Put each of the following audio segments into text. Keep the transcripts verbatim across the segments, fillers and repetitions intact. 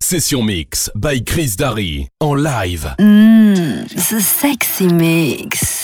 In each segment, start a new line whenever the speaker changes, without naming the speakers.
Session Mix by Chris Darry en live.
Mmm, the sexy mix.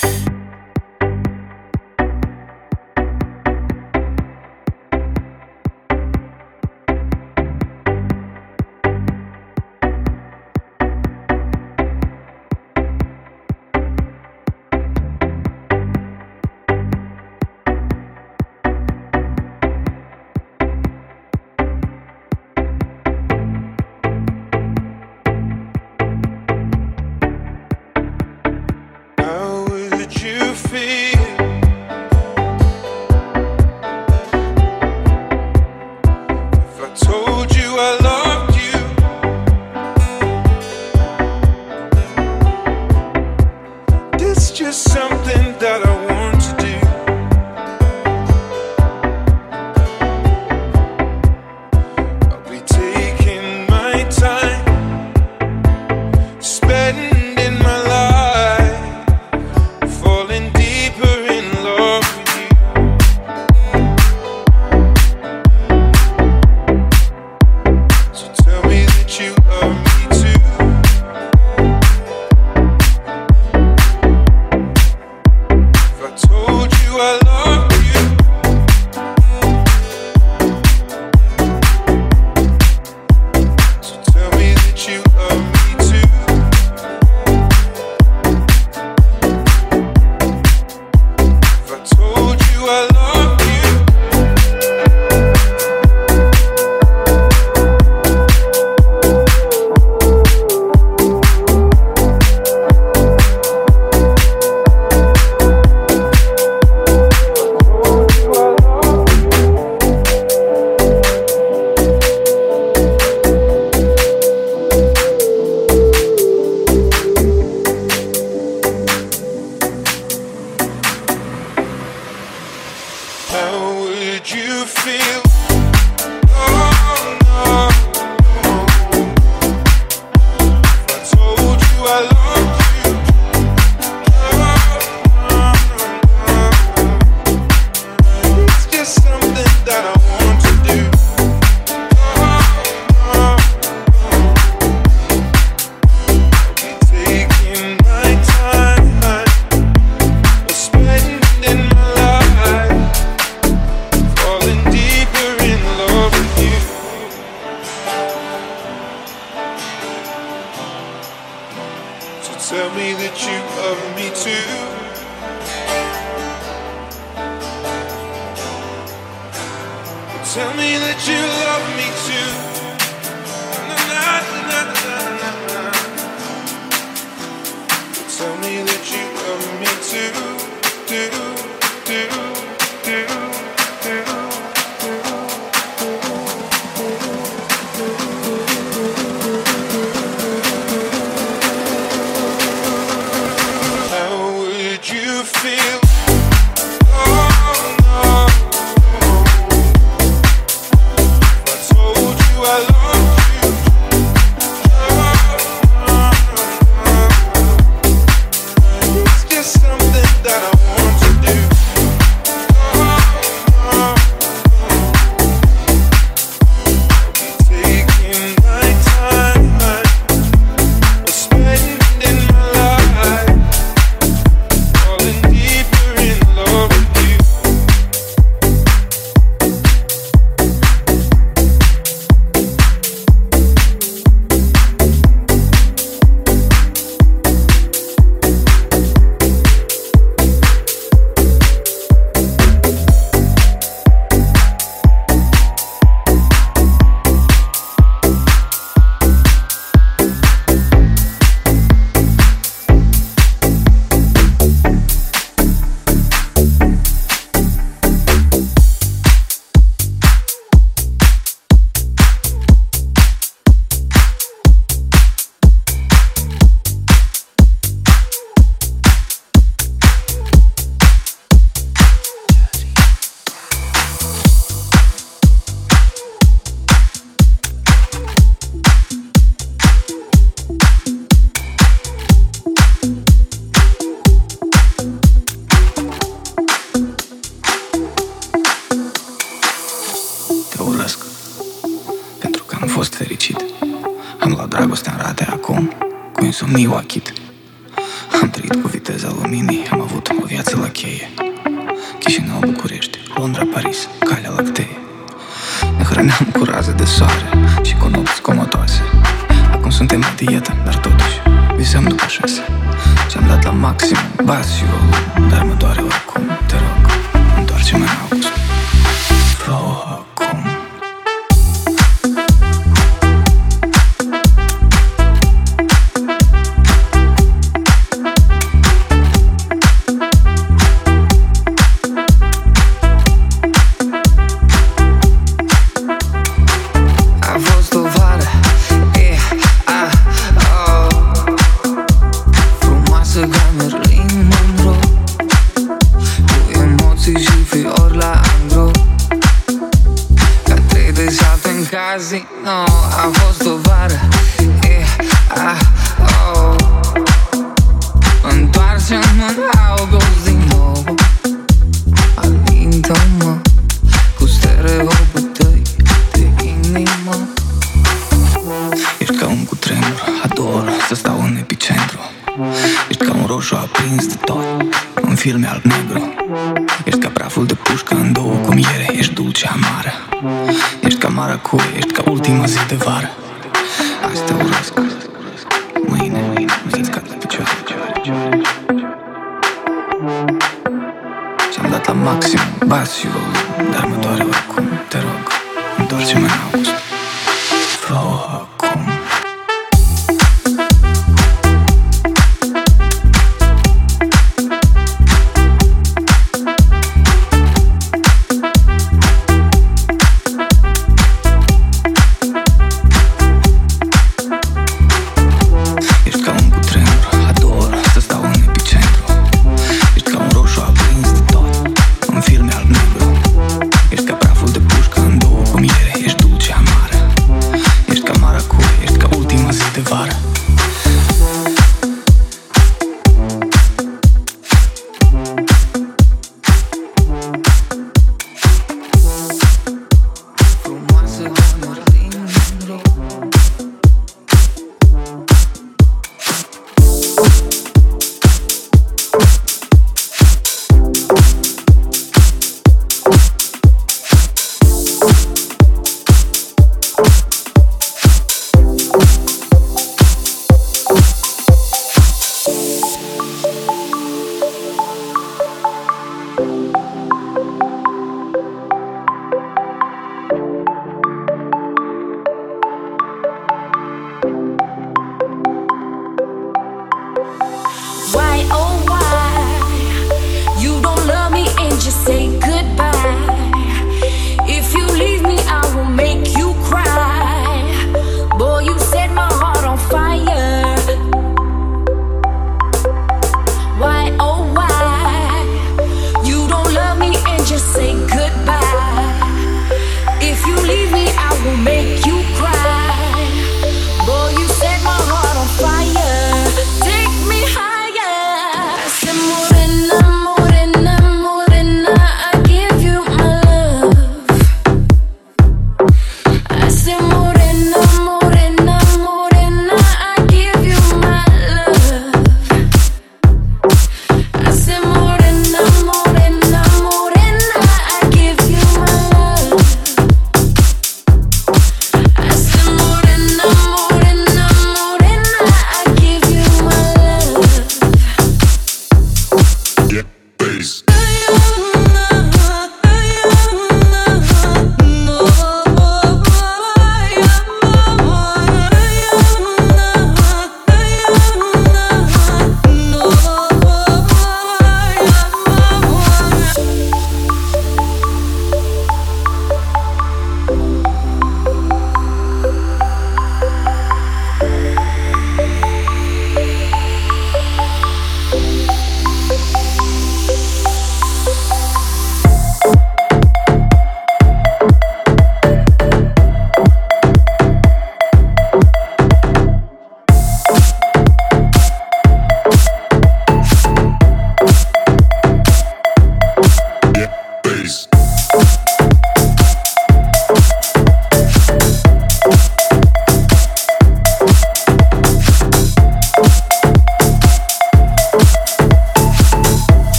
Te urăsc pentru că am fost fericit. Am luat dragostea în rate acum, cu insomniu achit. Am trăit cu viteza luminii, am avut o viață la cheie. Chișinău, București, Londra, Paris, Calea Lactee. Ne hrăneam cu raze de soare și cu nopți comotoase. Acum suntem la dietă, dar totuși visăm după șase. Ce-am dat la maxim, bas și volum, dar mă doare oricum. Te rog, întoarce-mă în august. Fă-o acum.
No, a fost o vară, e, ah, oh. Întoarce-mă în august din nou. Alintă-mă cu stereopul tăi de inimă.
Ești ca un cutremur, ador să stau în epicentru. Ești ca un roșu aprins de tot, un film alb-negru. Ești ca praful de pușcă în două cu miere. Ești dulce amară. Ești ca maracuie, ești ca ultima zi de vară. Azi te urăsc, mâine, mâine, mâine-ți cad la picioare. Ce-am dat la maxim, bas și volum, dar mă doare oricum. Te rog, întoarce-mă în august. Fă-o acum. Ești ca praful de pușcă în două cu miere. Ești dulce amar.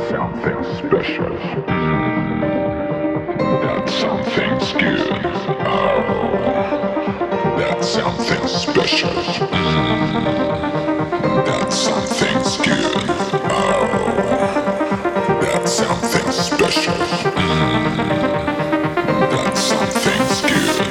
something special. Mm, that something's good. Oh, that something special. Mm, that something's good. Oh, that something special. Mm, that something's good.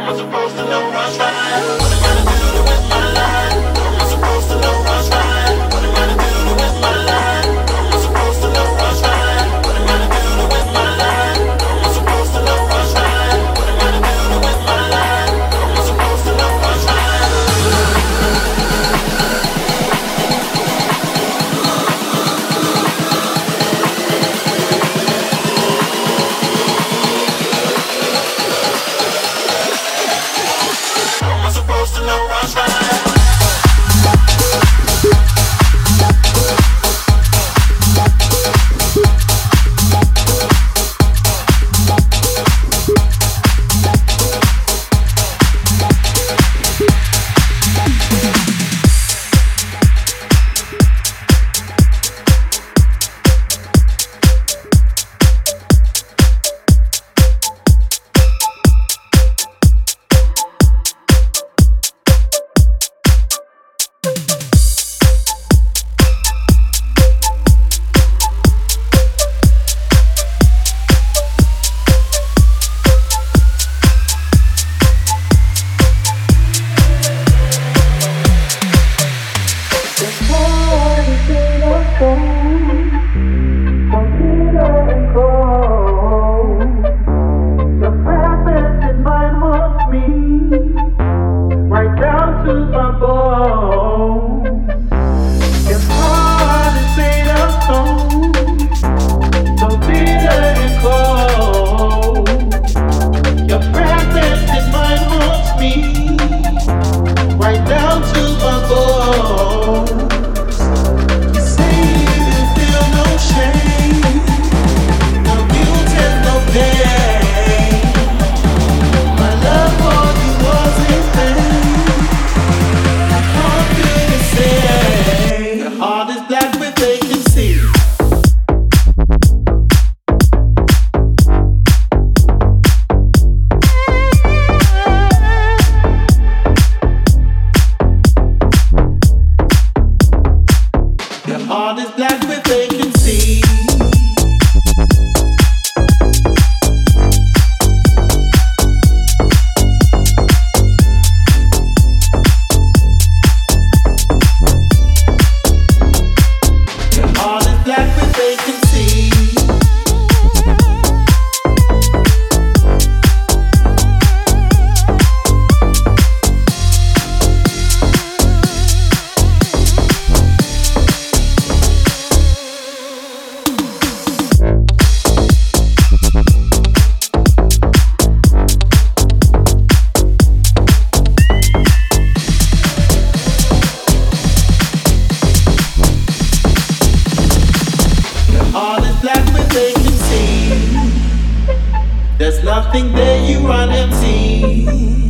nothing there, you run empty.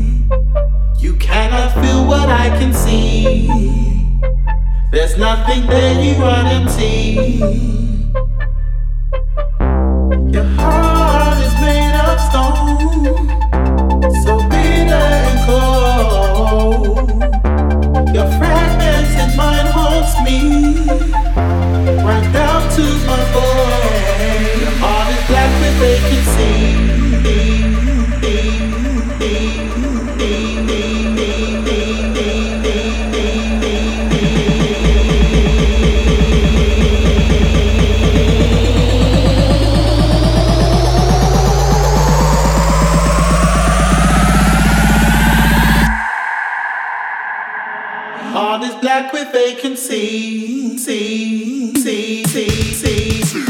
You cannot feel what I can see. There's nothing there, you run empty. Your heart is made of stone, so bitter and cold. Your fragmented mind haunts me, right down to my bone. Your heart is black with vacancy. Heart is black with vacancy. See, see, see, see, see.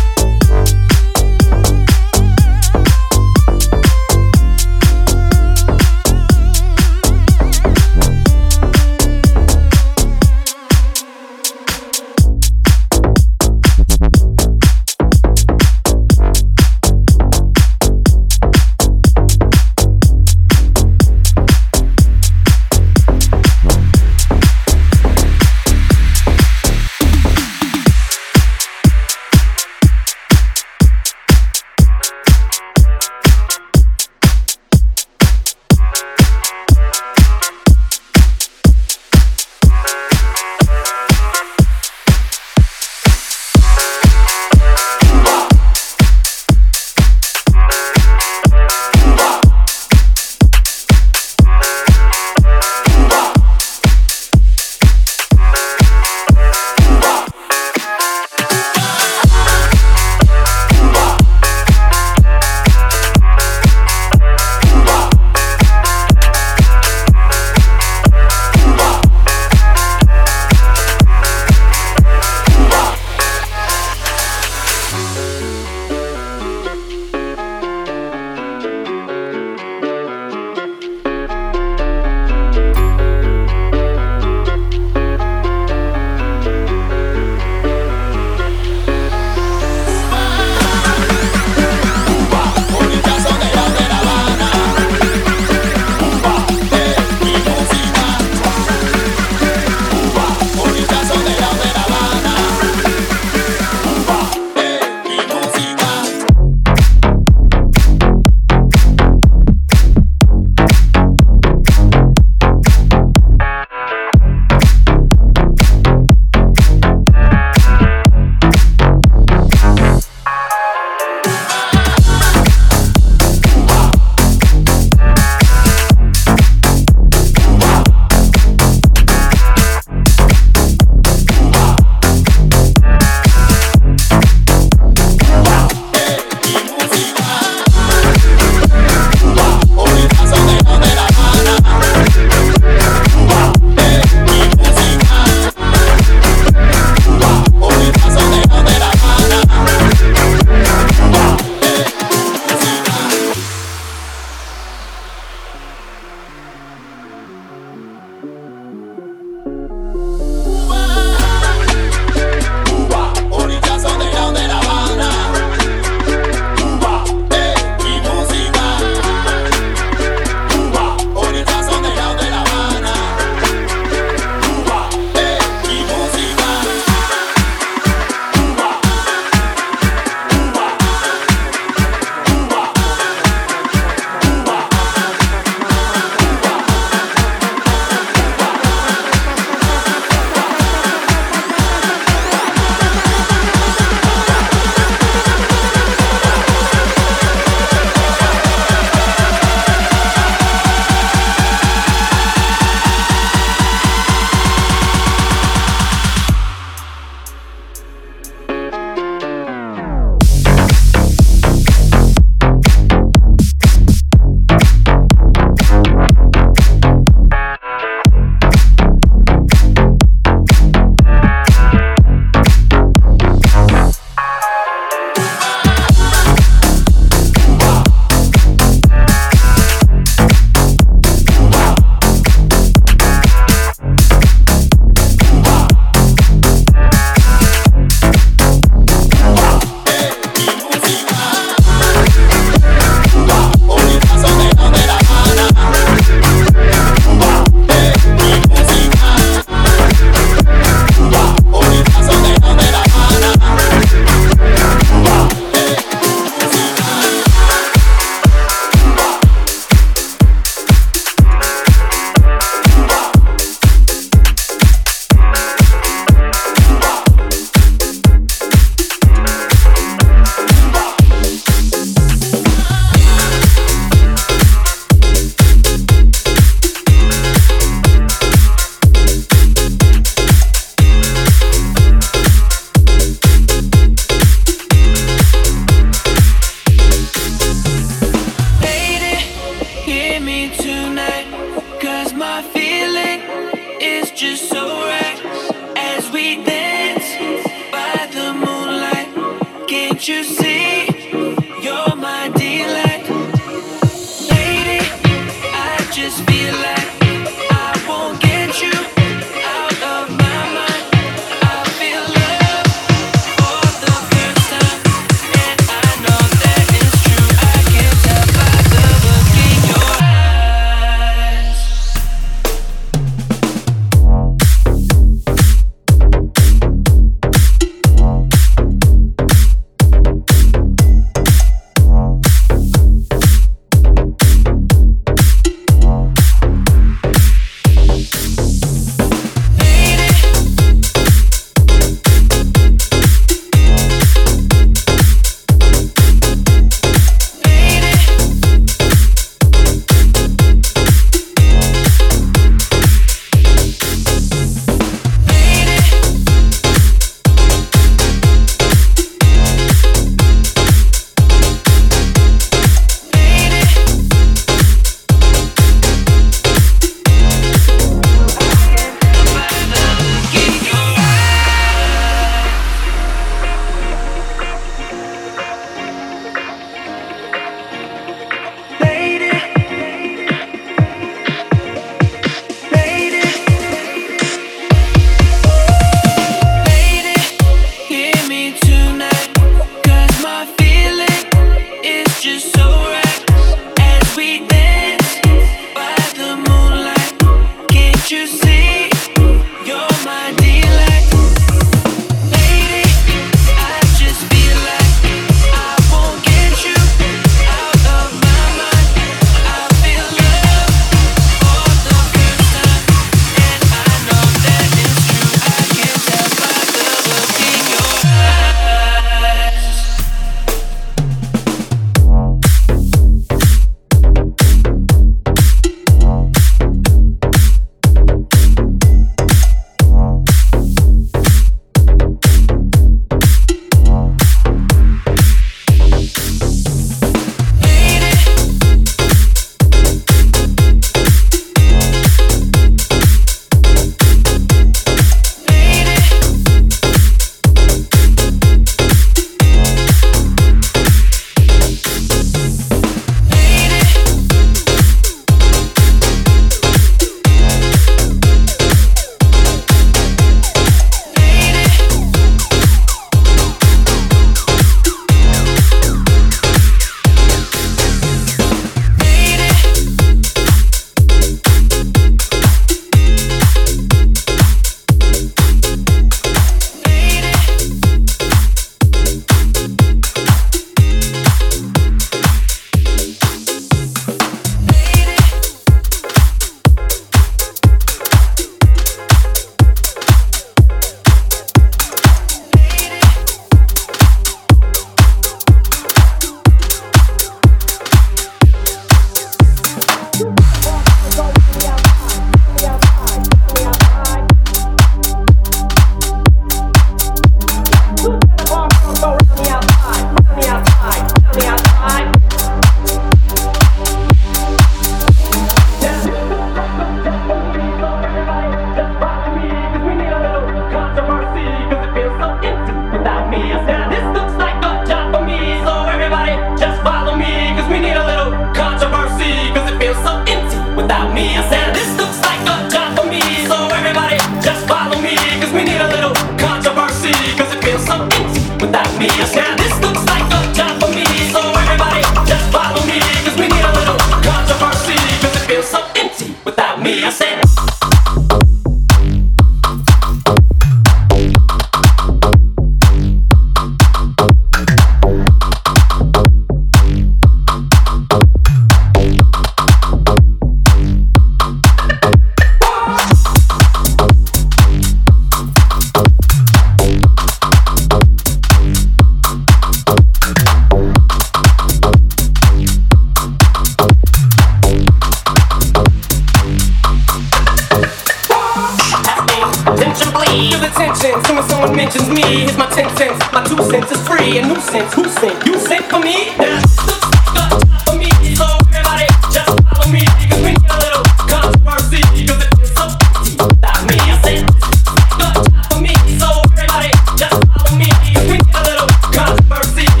Controversy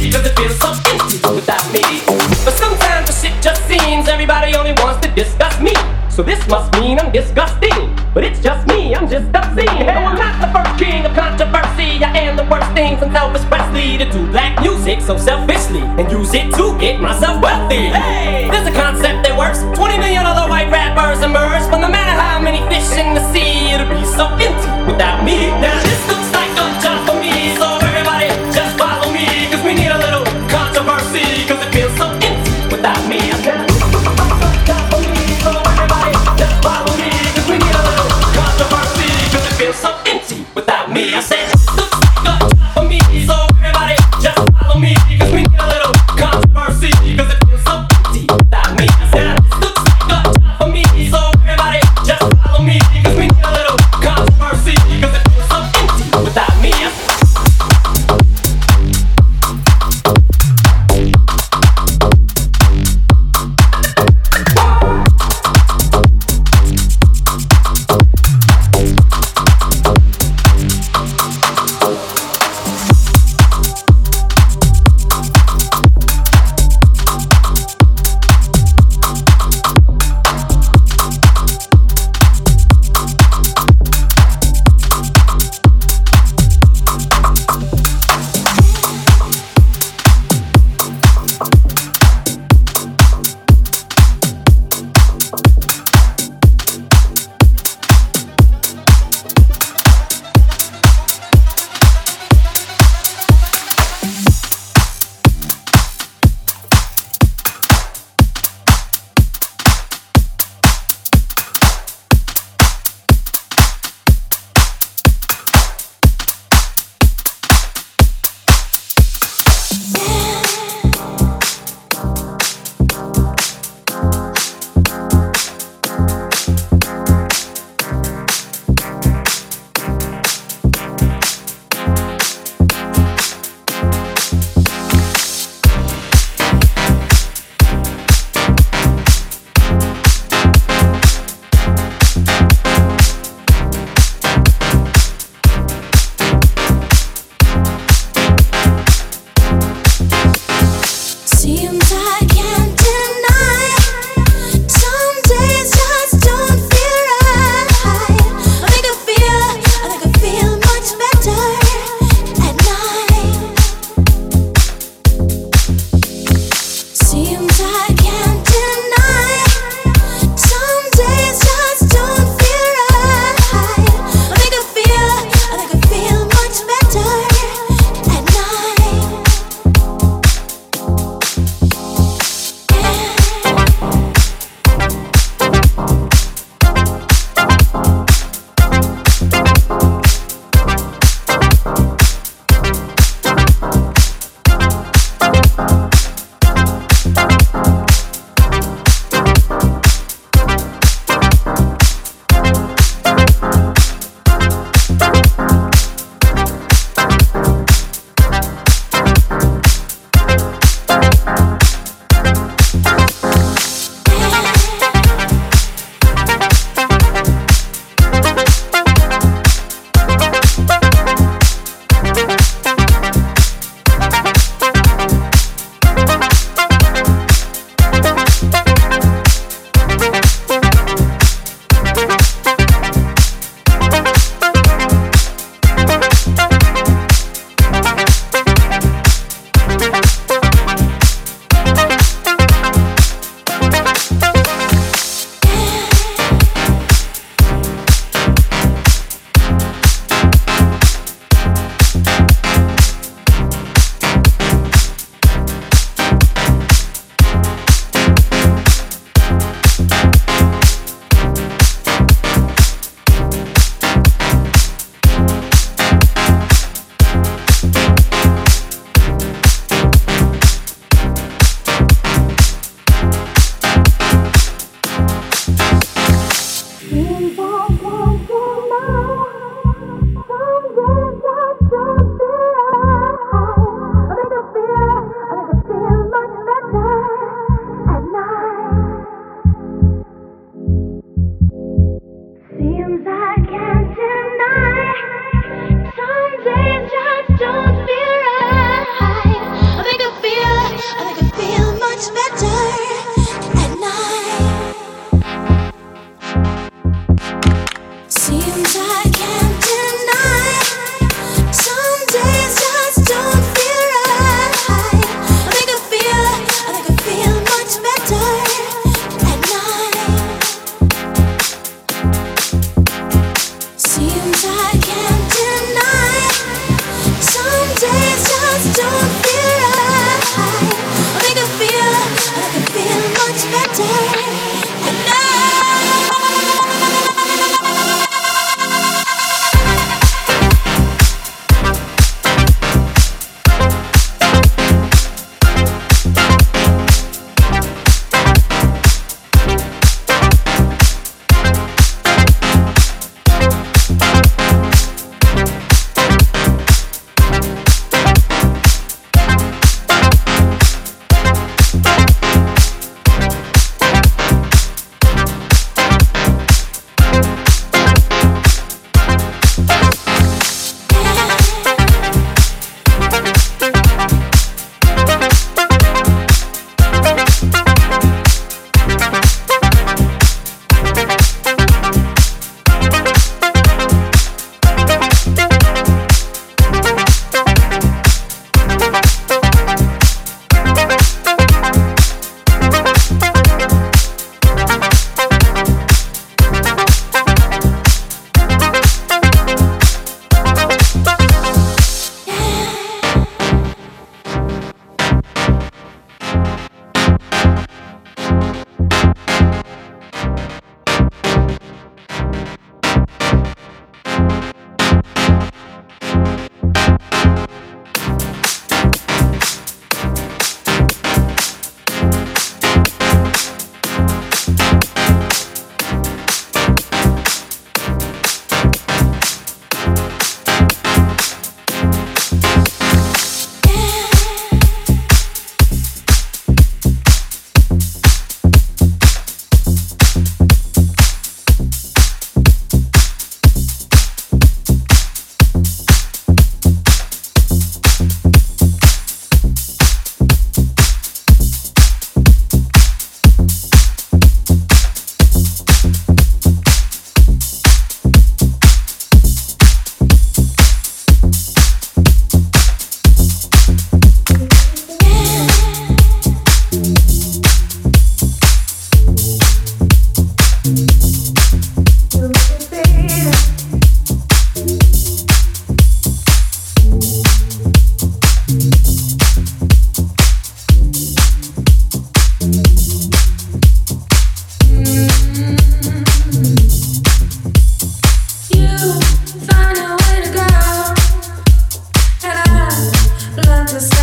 must mean I'm disgusting, but it's just me, I'm just obscene. No, I'm not the first king of controversy. I am the worst thing from Elvis Presley to do black music so selfishly and use it to get myself wealthy. Hey, there's a concept that works. twenty million other white rappers emerge, but no matter how many fish in the sea, it'll be so empty without me. Now this looks like a job for me, so everybody just follow me, cause we need a little controversy, cause it feels so empty without me. I said, this looks like a job for me, so everybody just follow me, cause we need a little controversy, cause it feels so empty without me. I said, this looks like a job for me, so everybody just follow me, cause we need a little controversy, cause it feels so empty without me. I said, this looks like a job for me, so everybody just follow me, cause we need a little controversy, cause it feels so empty.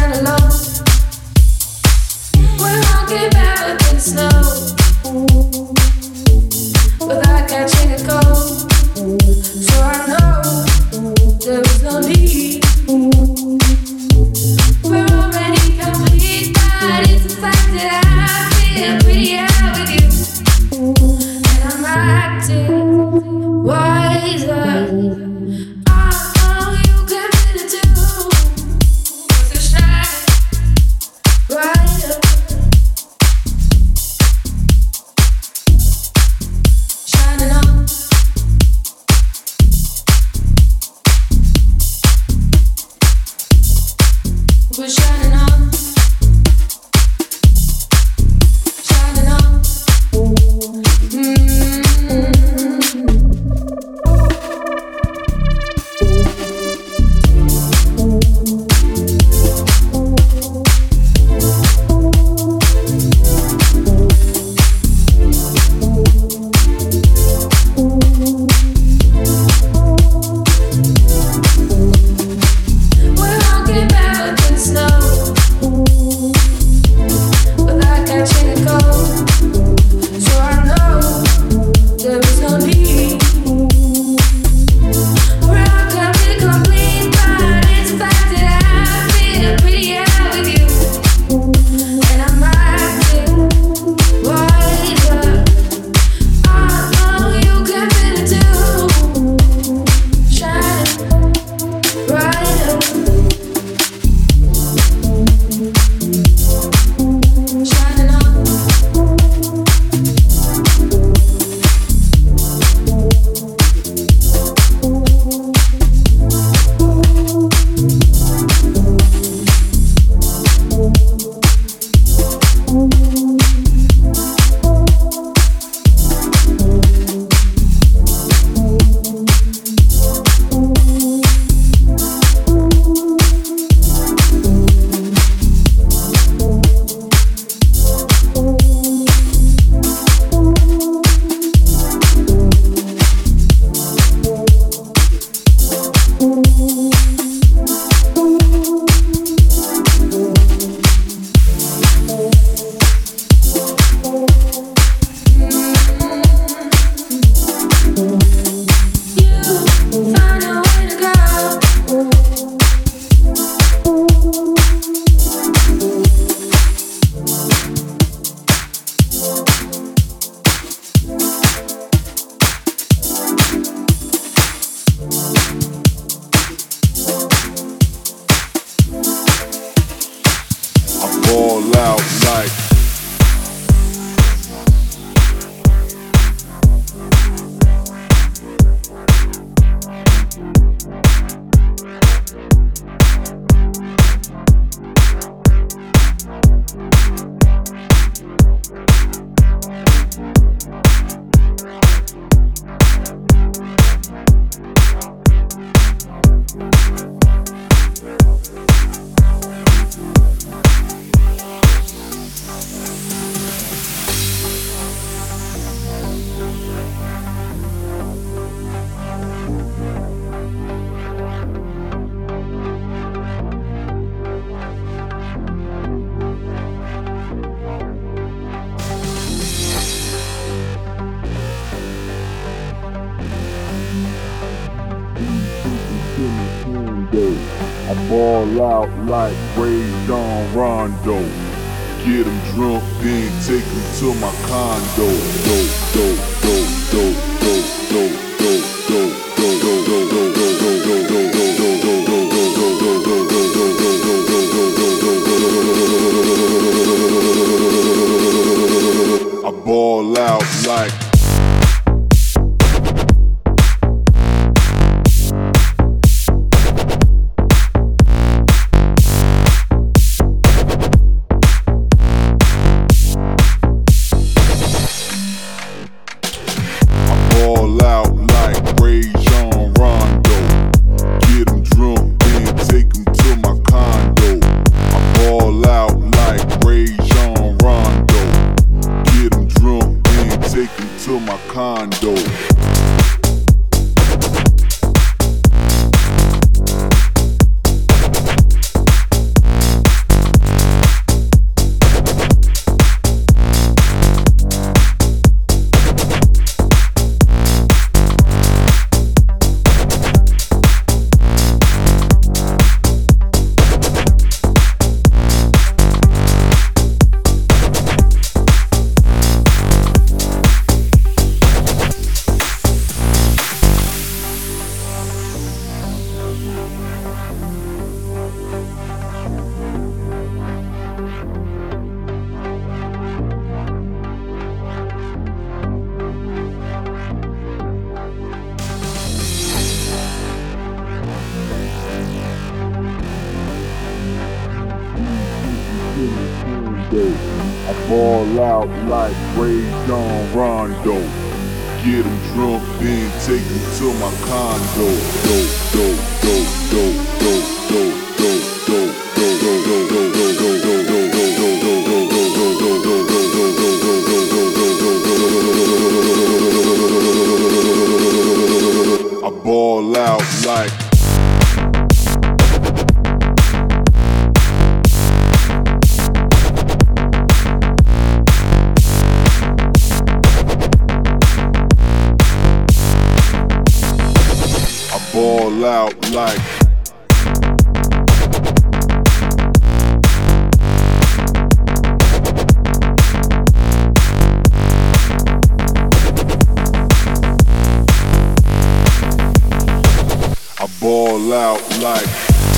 I ball out like Ray Don Rondo. Get him drunk, then take him to my condo. Do, do, do, do, do, do, do, do, do, do, do, do, I ball out like out I ball out like Ray John Rondo. Get him drunk, then take him to my condo. Do, do, do, do, do, do, do, do, do, do, do, I ball out like ball out like I ball out like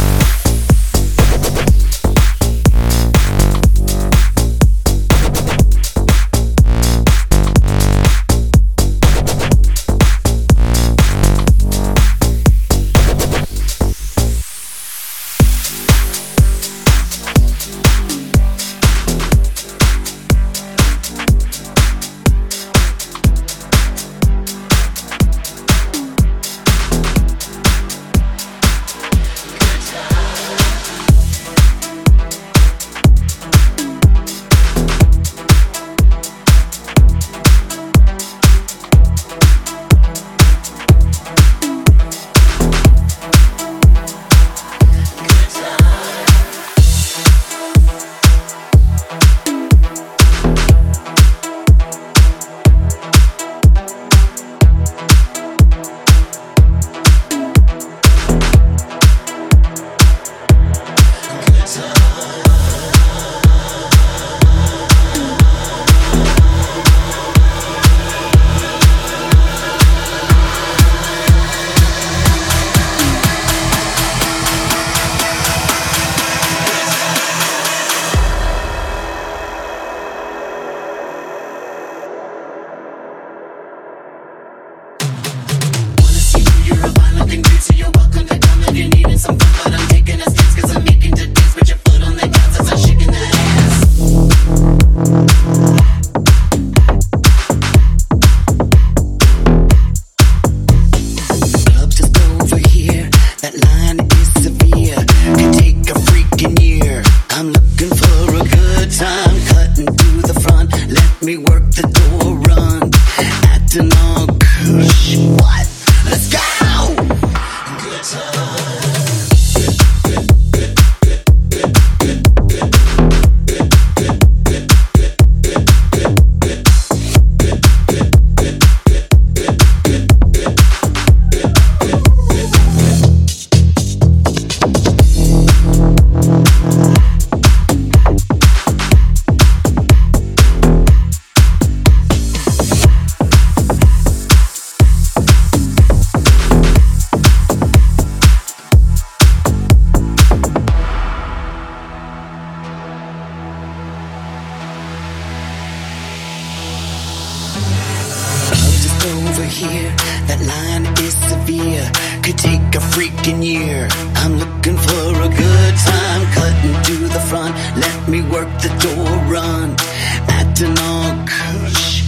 here, that line is severe. Could take a freaking year. I'm looking for a good time, cutting to the front. Let me work the door run, acting all kush.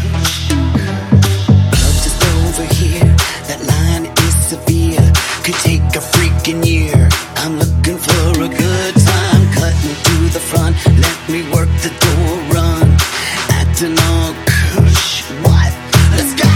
Love just over here, that line is severe. Could take a freaking year. I'm looking for a good time, cutting to the front. Let me work the door run, acting all kush. What? Let's go!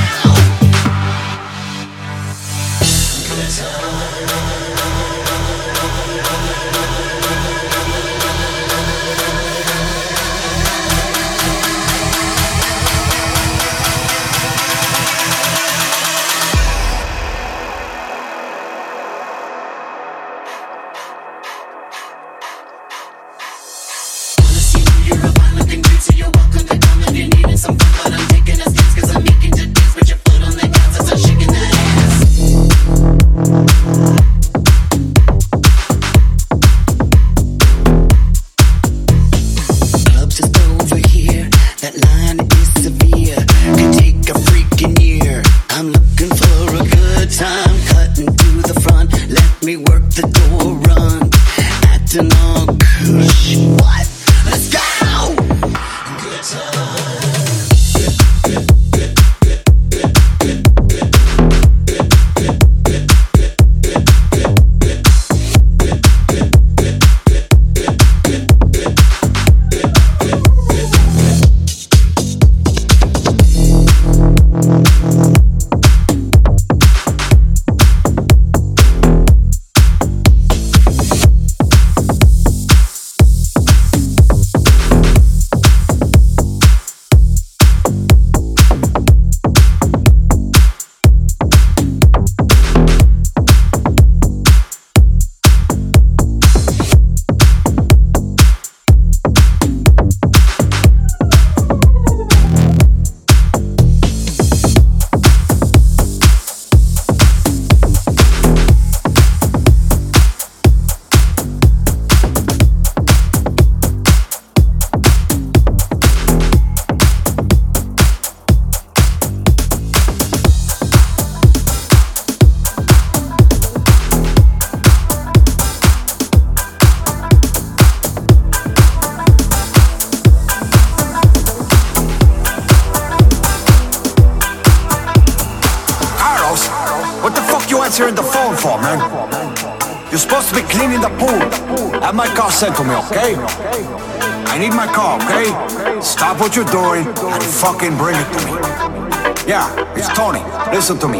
answering the phone for, man? You're supposed to be cleaning the pool. Have my car sent to me, okay? I need my car, okay? Stop what you're doing and fucking bring it to me. Yeah, it's Tony. Listen to me.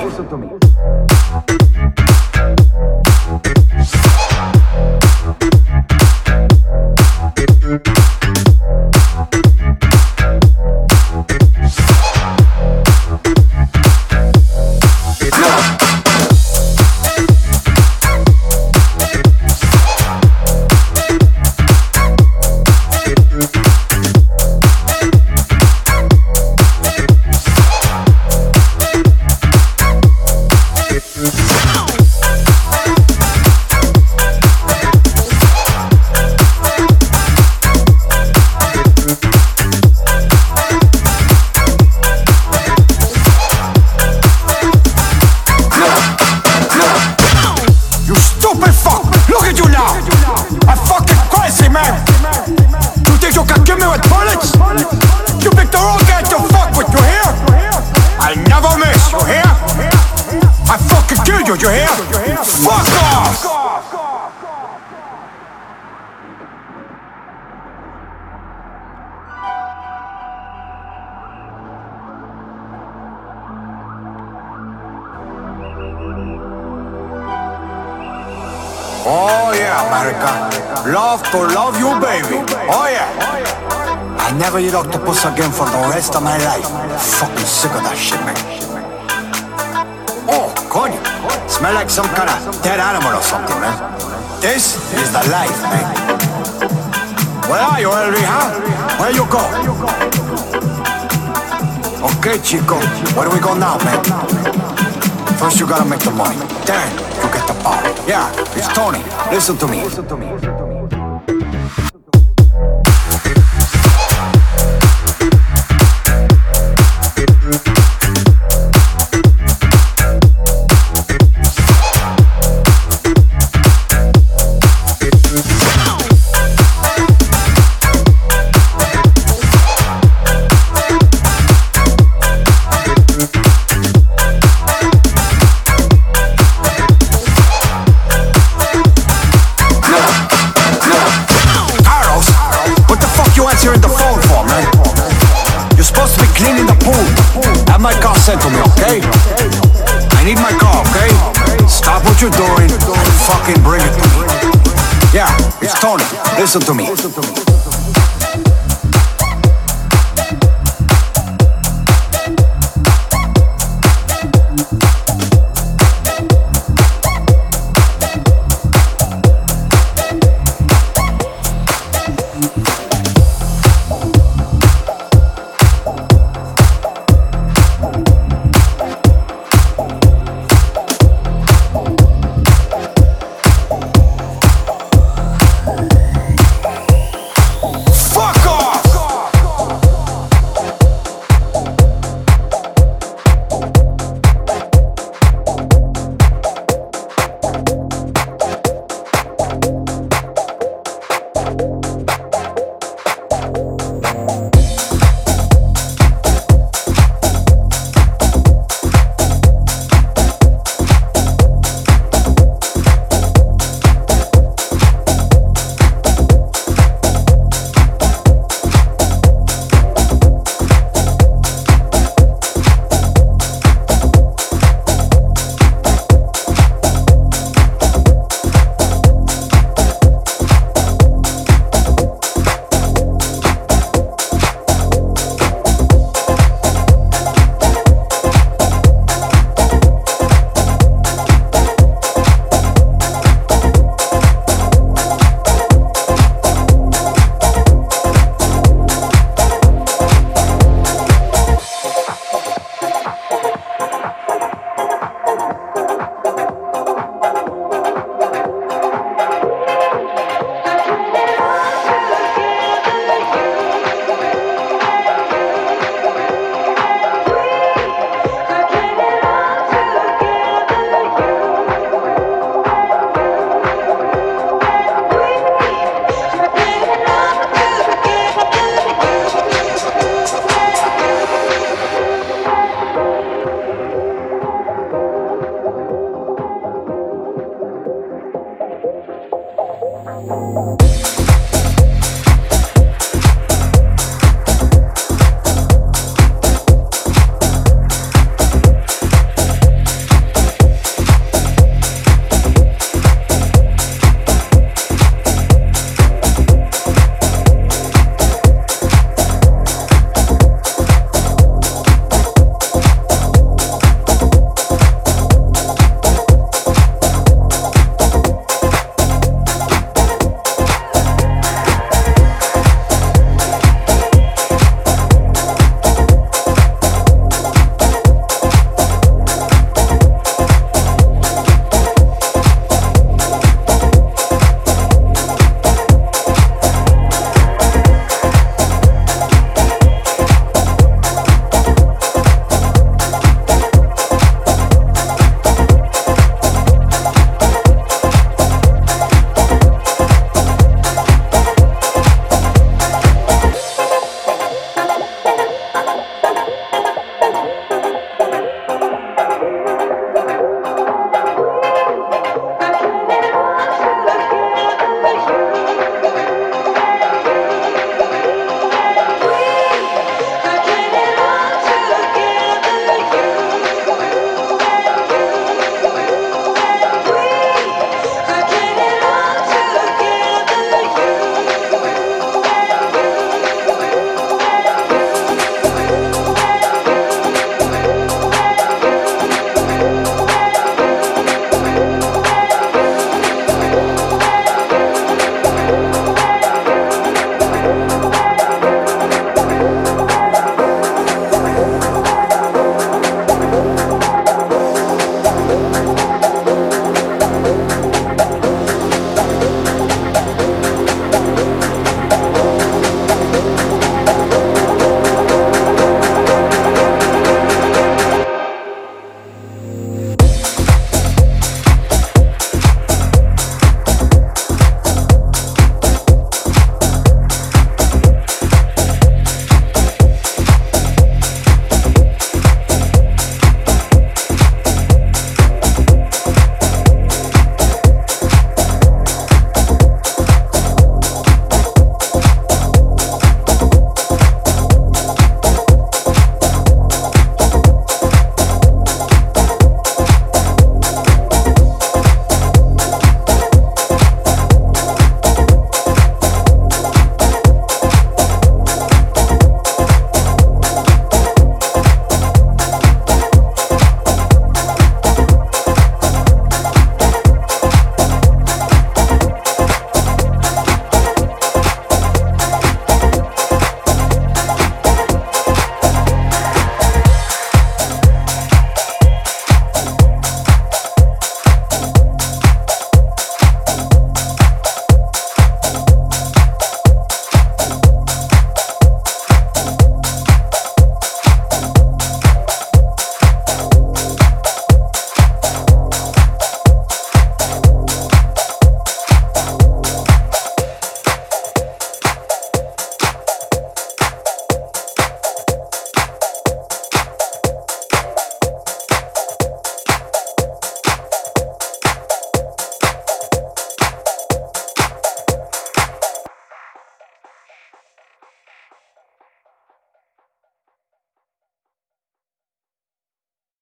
You hear? Fuck off! Oh yeah, America. Love to love you, baby. Oh yeah. I never eat octopus again for the rest of my life. Fucking sick of that shit, man. Oh, coño. Smell like some kind of dead animal or something, man. This is the life, man. Where are you, Elvi, huh? Where you go? Okay, Chico. Where do we go now, man? First you gotta make the money. Then you get the power. Yeah, it's Tony. Listen to me. Listen to me. Sent to me, okay? I need my car, okay? Stop what you're doing and fucking bring it to me. Yeah, it's Tony. Listen to me.